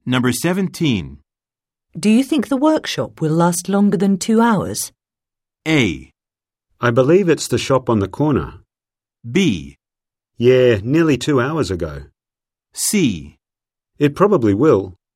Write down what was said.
Number 17. Do you think the workshop will last longer than 2 hours? A. I believe it's the shop on the corner. B. Yeah, nearly 2 hours ago. C. It probably will.